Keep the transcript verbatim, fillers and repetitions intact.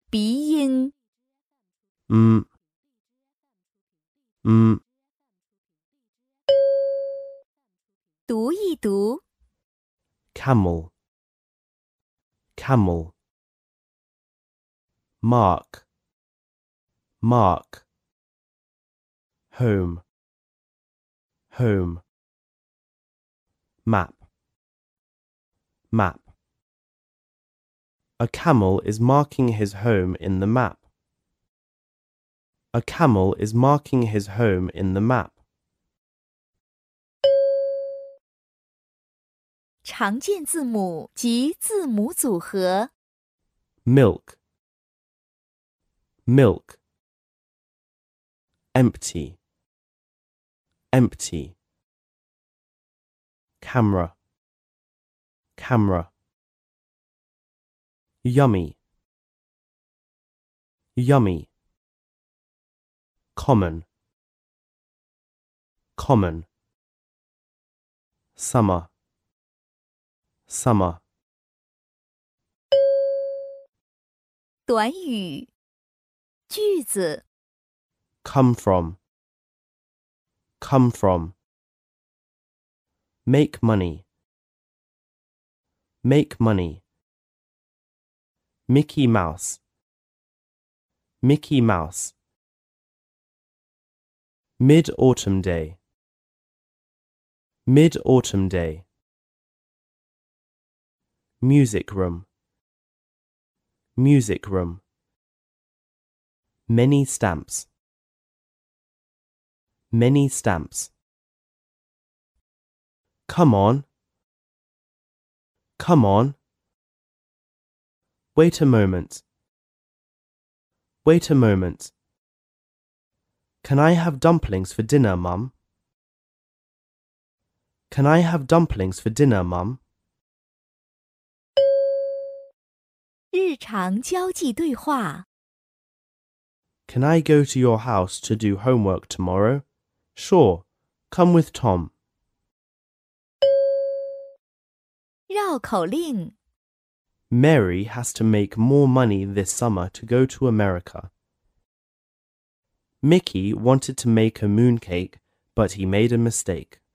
鼻音。 嗯嗯读一读。 camel camel mark mark home home map map A camel is marking his home in the map. A camel is marking his home in the map. 常见字母及字母组合。 Milk milk empty empty camera camera yummy yummy common common summer summer 短语。句子。 come from come from make money make money Mickey Mouse Mickey Mouse Mid-autumn day Mid-autumn day Music room Music room Many stamps Many stamps Come on Come on Wait a moment Wait a moment Can I have dumplings for dinner, Mum? Can I have dumplings for dinner, Mum? 日常交际对话。 Can I go to your house to do homework tomorrow? Sure. Come with Tom. 绕口令。 Mary has to make more money this summer to go to America. Mickey wanted to make a mooncake, but he made a mistake.